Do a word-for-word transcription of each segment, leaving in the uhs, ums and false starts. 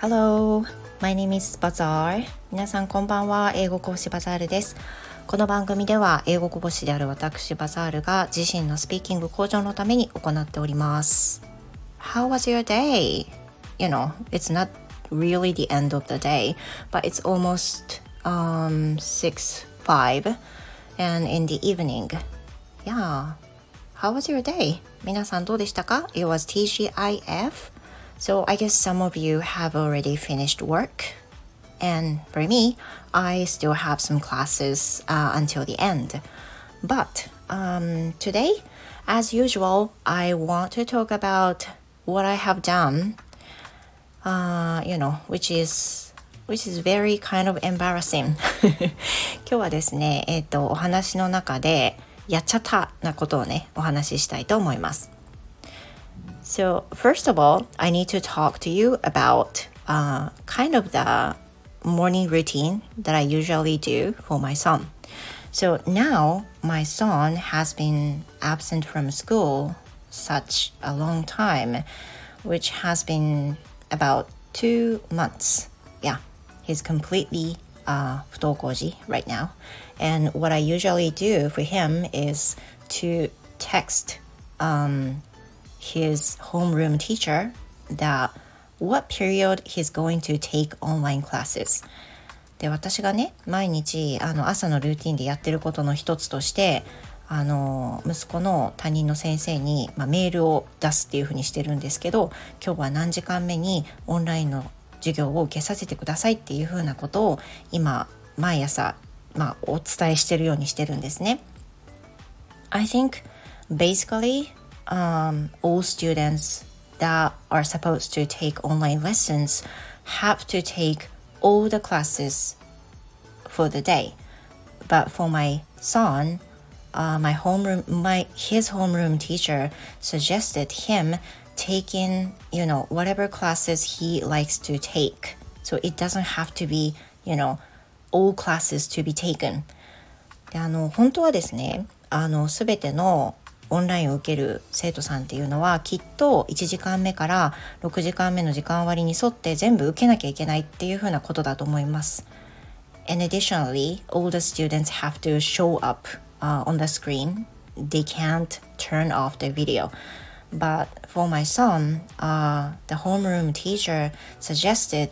Hello, my name is Bazaar. 皆さんこんばんは。英語講師バザールです。この番組では英語講師である私バザールが自身のスピーキング向上のために行っております。How was your day? You know, it's not really the end of the day, but it's almost um, six, five and in the evening. Yeah. How was your day? 皆さんどうでしたか? It was ティージーアイエフ. So I guess some of you have already finished work. And for me, I still have some classes uh, until the end. But um, today, as usual, I want to talk about what I have done, uh, you know, which is, which is very kind of embarrassing. 今日はですね、えっと、お話の中でやっちゃったなことをね、お話ししたいと思います。So first of all, I need to talk to you about uh, kind of the morning routine that I usually do for my son. So now my son has been absent from school such a long time, which has been about two months. Yeah, he's completely uh, 不登校児 right now. And what I usually do for him is to text um, his homeroom teacher that what period he's going to take online classes. で、私がね、毎日あの朝のルーティンでやってることの一つとして、あの息子の担任の先生に、まあ、メールを出すっていうふうにしてるんですけど、今日は何時間目にオンラインの授業を受けさせてくださいっていうふうなことを今毎朝、まあ、お伝えしてるようにしてるんですね。I think basically Um, all students that are supposed to take online lessons have to take all the classes for the day. But for my son, uh, my homeroom, my his homeroom teacher suggested him taking, you know, whatever classes he likes to take. So it doesn't have to be, you know, all classes to be taken. で、あの本当はですね、あのすべてのオンラインを受ける生徒さんっていうのはきっといちじかんめからろくじかんめの時間割に沿って全部受けなきゃいけないっていうふうなことだと思います。And additionally, all the students have to show up、uh, on the screen. They can't turn off the video. But for my son,、uh, the homeroom teacher suggested,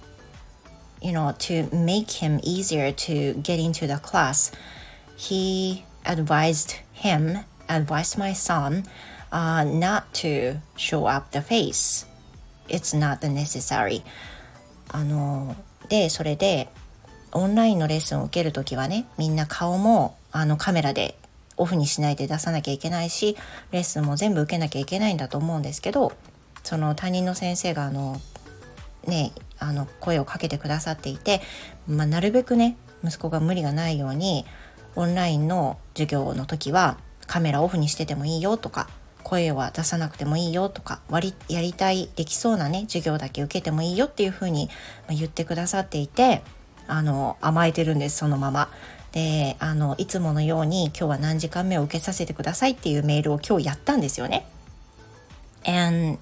you know, to make him easier to get into the class. He advised him,advised my son、uh, not to show up the face. It's not necessary. あのでそれでオンラインのレッスンを受けるときはね、みんな顔もあのカメラでオフにしないで出さなきゃいけないし、レッスンも全部受けなきゃいけないんだと思うんですけど、その担任の先生があのねあの声をかけてくださっていて、まあ、なるべくね息子が無理がないようにオンラインの授業の時はカメラオフにしててもいいよとか、声は出さなくてもいいよとか、割りやりたいできそうなね授業だけ受けてもいいよっていう風に言ってくださっていて、あの甘えてるんです。そのままで、あのいつものように今日は何時間目を受けさせてくださいっていうメールを今日やったんですよね。 And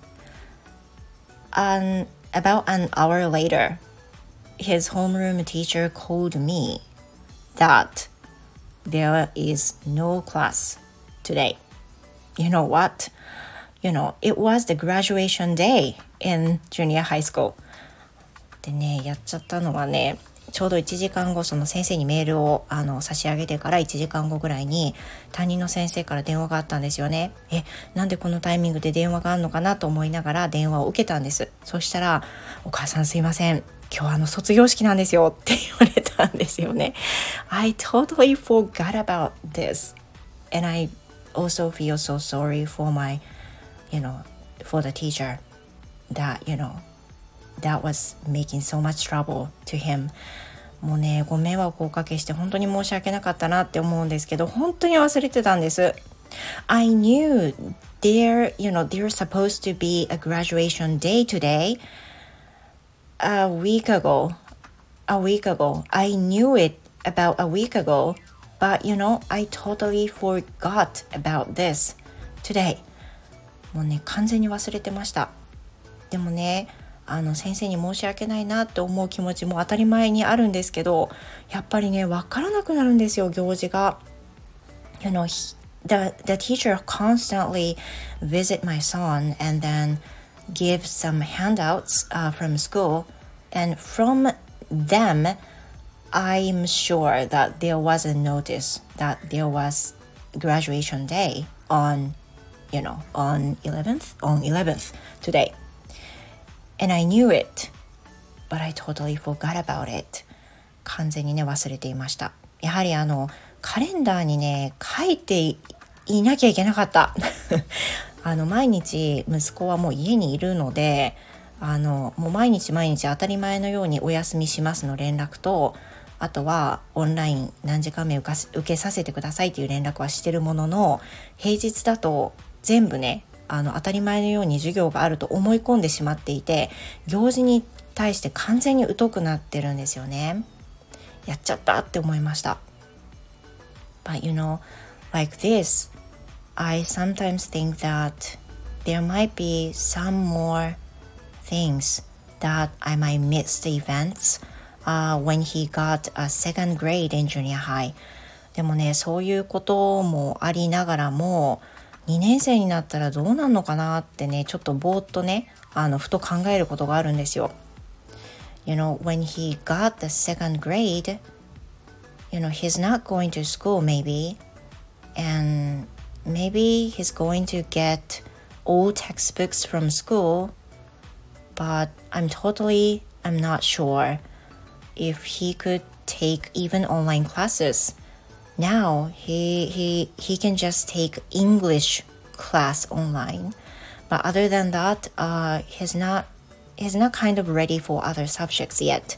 um, about an hour later, his homeroom teacher called me that there is no class today. You know what? You know, it was the graduation day in junior high school. でね、やっちゃったのはね、ちょうどいちじかんご、その先生にメールをあの差し上げてからいちじかんごぐらいに担任の先生から電話があったんですよね。え、なんでこのタイミングで電話があるのかなと思いながら電話を受けたんです。そしたら、お母さんすいません、今日はあの卒業式なんですよって言われたんですよね。I totally forgot about this. And I also feel so sorry for my, you know, for the teacher that, you know, that was making so much trouble to him. もうね、ご迷惑をおかけして本当に申し訳なかったなって思うんですけど、本当に忘れてたんです。I knew there, you know, there's supposed to be a graduation day today a week ago. A week ago. I knew it about a week ago, but you know, I totally forgot about this today. もうね、完全に忘れてました。でもね、 あの先生に申し訳ないなって思う気持ちも当たり前にあるんですけど、やっぱりね分からなくなるんですよ、行事が。You know, he, the, the teacher constantly visit my son and then give some handouts uh, from school, and from them I'm sure that there was a notice that there was graduation day on, you know, on eleventh, on eleventh today. And I knew it, but I totally forgot about it. 完全にね、忘れていました。やはりあの、カレンダーにね、書いていなきゃいけなかった。あの、毎日息子はもう家にいるので、あの、もう毎日毎日当たり前のようにお休みしますの連絡と、あとはオンライン何時間目受けさせてくださいっていう連絡はしてるものの、平日だと全部ね、あの当たり前のように授業があると思い込んでしまっていて、行事に対して完全に疎くなってるんですよね。やっちゃったって思いました。But you know, like this, I sometimes think that there might be some more things that I might miss the events、uh, when he got a second grade in junior high. でもね、そういうこともありながらも、にねん生になったらどうなるのかなってね、ちょっとぼーっとね、あのふと考えることがあるんですよ。You know, when he got the second grade, you know, he's not going to school maybe, and maybe he's going to get all textbooks from school, but I'm totally, I'm not sure if he could take even online classes.Now he he he can just take English class online, but other than that, uh, he's not he's not kind of ready for other subjects yet.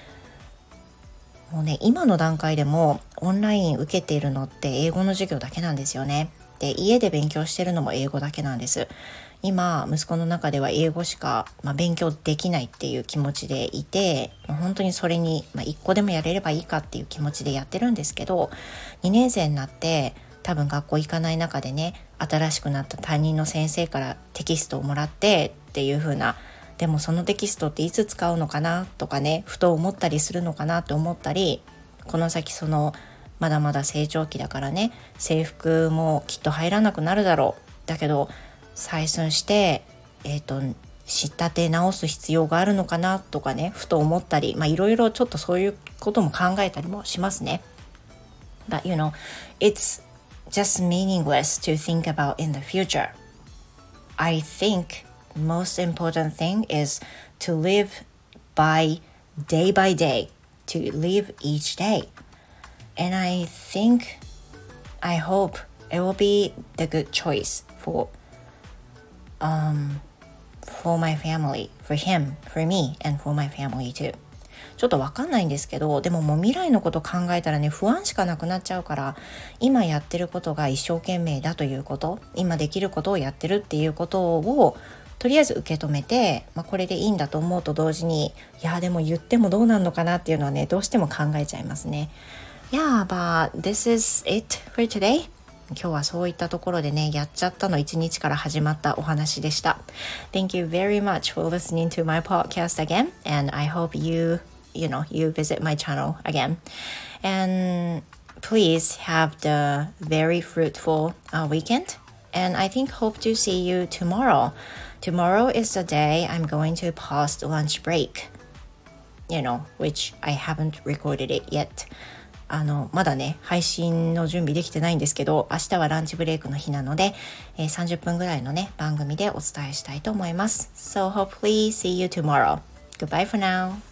もうね、今の段階でもオンライン受けているのって英語の授業だけなんですよね。で、家で勉強してるのも英語だけなんです。今息子の中では英語しか、まあ、勉強できないっていう気持ちでいて、本当にそれに、まあ、一個でもやれればいいかっていう気持ちでやってるんですけど、にねん生になって多分学校行かない中でね、新しくなった担任の先生からテキストをもらってっていう風な、でもそのテキストっていつ使うのかなとかね、ふと思ったりするのかなと思ったり、この先そのまだまだ成長期だからね、制服もきっと入らなくなるだろう。だけど採寸して、えーと、仕立て直す必要があるのかなとかね、ふと思ったり、まあいろいろちょっとそういうことも考えたりもしますね。But you know, it's just meaningless to think about in the future. I think most important thing is to live by day by day, to live each day. And I think, I hope it will be the good choice for,Um, for my family, for him, for me, and for my family too. ちょっとわかんないんですけど、でももう未来のこと考えたらね、不安しかなくなっちゃうから、今やってることが一生懸命だということ、今できることをやってるっていうことをとりあえず受け止めて、まあ、これでいいんだと思うと同時に、いやでも言ってもどうなんのかなっていうのはね、どうしても考えちゃいますね。Yeah, but this is it for today.今日はそういったところでね、やっちゃったの一日から始まったお話でした。Thank you very much for listening to my podcast again, and I hope you, you know, you visit my channel again. And please have the very fruitful uh, weekend, and I think hope to see you tomorrow. Tomorrow is the day I'm going to post lunch break, you know, which I haven't recorded it yet.あのまだね配信の準備できてないんですけど、明日はランチブレイクの日なので、えー、さんじゅっぷんぐらいのね番組でお伝えしたいと思います。So hopefully see you tomorrow. Goodbye for now.